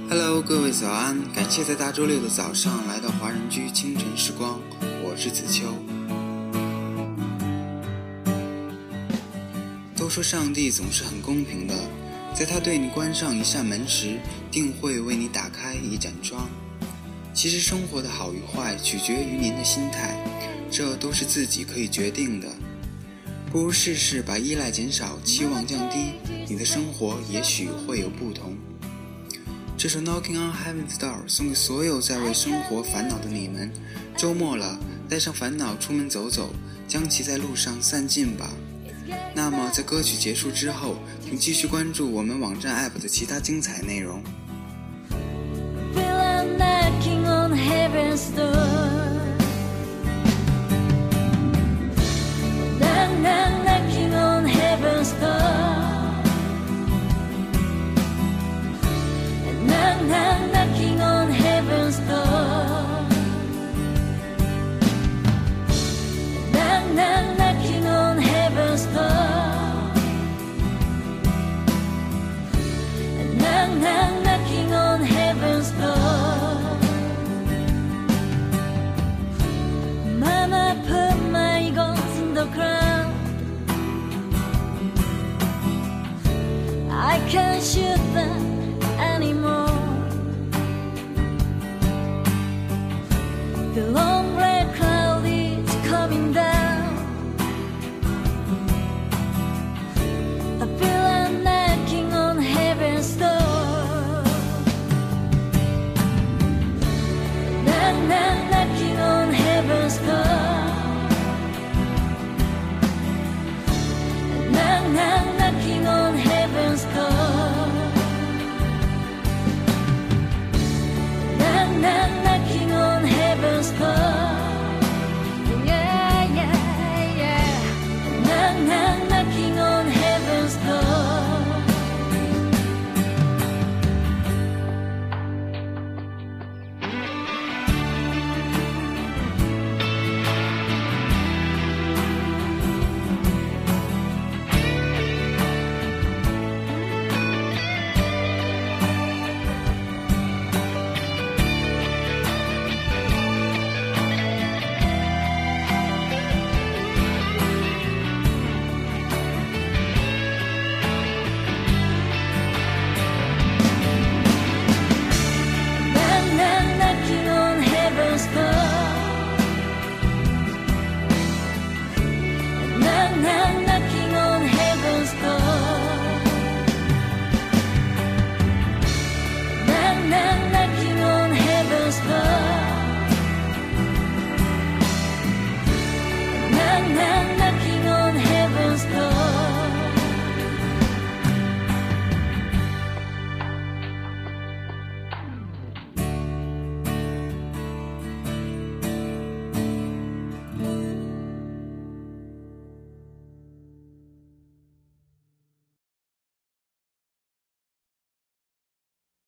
Hello， 各位早安！感谢在大周六的早上来到华人居清晨时光，我是子秋。都说上帝总是很公平的，在他对你关上一扇门时，定会为你打开一盏窗。其实生活的好与坏取决于您的心态，这都是自己可以决定的。不如试试把依赖减少，期望降低，你的生活也许会有不同。这首 Knocking on Heaven's Door 送给所有在为生活烦恼的你们，周末了，带上烦恼出门走走，将其在路上散尽吧。那么在歌曲结束之后，请继续关注我们网站 App 的其他精彩内容。 Knocking on heaven's door. Knocking on heaven's door. Knocking on heaven's door. Mama put my guns in the ground. I can't shoot them.